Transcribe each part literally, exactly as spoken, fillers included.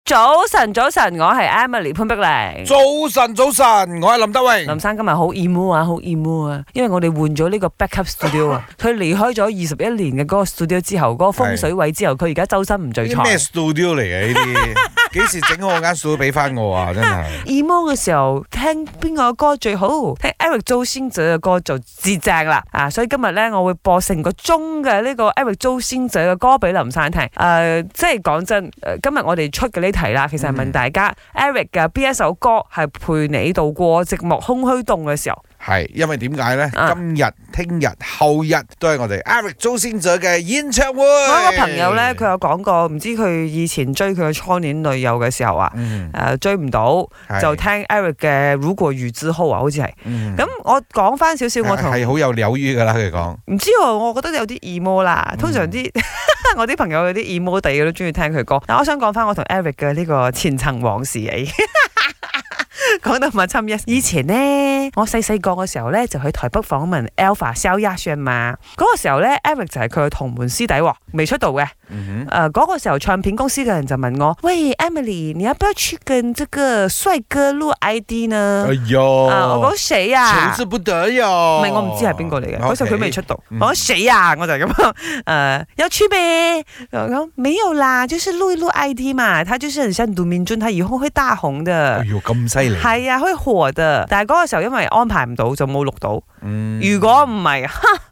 早晨，早晨，我係 Emily 潘碧玲。 早晨，早晨，我係林德榮。 林生今日好 emo 啊，好 emo 啊，因為我哋換咗呢個 backup studio 啊。佢離開咗二十一年嘅嗰個 studio 之後，嗰、嗰個風水位之後，佢而家周身唔聚財。 咩 studio 嚟嘅呢啲？幾時整好我間 studio 俾翻我啊？真係 emo 嘅時候聽邊個歌最好？聽 Eric 周興哲嘅歌就至正啦。啊，所以今日咧我會播成個鐘嘅呢個 Eric 周興哲嘅歌俾林生聽。誒、呃，即係講真，今日我哋出嘅呢題啦，其實係問大家、嗯、Eric 嘅邊一首歌係陪你度過寂寞空虛凍嘅時候？ 係，因為點解咧？ 啊、 今日、聽日、後日都係我哋 Eric 周興哲嘅演唱會。 我有個朋友咧，佢有講過，唔知佢以前追佢嘅初戀女友嘅時候啊，誒、嗯呃、追唔到，就聽 Eric 嘅《如果雨之後》啊，好似係。咁、嗯、我講翻少少，我同係好有鳥語噶啦，佢講。 唔知喎，我覺得有啲 emo 啦。通常啲、嗯、我啲朋友有啲 emo 地嘅都中意聽佢歌。但我想講翻我同 Eric 嘅呢個前塵往事嚟。講到密親一，以前呢，我細細個嘅時候咧，就去台北訪問 Alpha 蕭亞軒嘛。嗰、那個時候咧 ，Eric 就係佢嘅同門師弟喎，未出道嘅。誒、嗯，嗰、呃那個時候唱片公司嘅人就問我：喂 ，Emily， 你要不要去跟這個帥哥錄 I D 呢？哎喲、 啊，我講誰啊？ 求之不得喲。 唔係，我唔知係邊個嚟嘅。嗰時候佢未出道。 嗯、 我講誰啊？我就咁樣誒，要去咩？我講沒有啦，就是錄一錄 I D 嘛。他就是很像盧明俊，他以後會大紅的。 哎喲，咁犀利！ 係啊，可以火的，但係嗰個時候因為安排唔到，就冇錄到。 嗯、 如果唔係，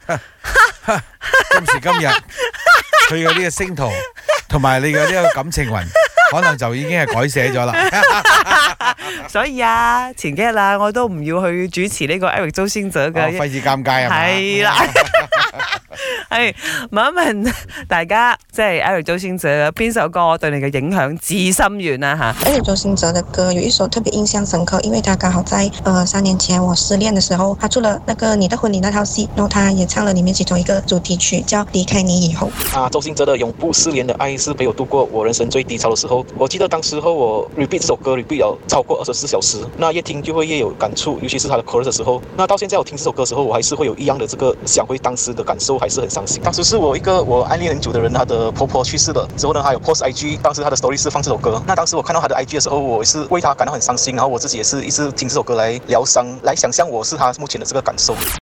今時今日佢嘅呢個星途同埋你嘅呢個感情運，可能就已經係改寫咗啦。 所以啊，前幾日啦，我都唔要去主持呢個 Eric 周興哲嘅， 費事尷尬係嘛？ 係啦。係問一問大家，即係 Eric 周興哲邊首歌對你嘅影響至深遠啊吓 ？Eric 周興哲的歌有一首特別印象深刻，因為他剛好在呃三年前我失戀的時候，他出了那個你的婚禮那套戲，然後他也唱了裏面其中一個主題曲，叫離開你以後。 啊，周興哲的永不失聯的愛是陪我度過我人生最低潮的時候。我記得當時候我 repeat 這首歌 repeat 了超過二十四小時，那越聽就會越有感觸，尤其是他的 chorus 的時候。那到現在我聽這首歌的時候，我還是會有一樣的這個想回當時的感受，還是很傷心。當時是我一個我暗戀很久的人，她的婆婆去世了之後呢，她有 post I G， 當時她的 story 是放這首歌。那當時我看到她的 I G 的時候，我是為她感到很傷心，然後我自己也是一直聽這首歌來療傷，來想象我是她目前的這個感受。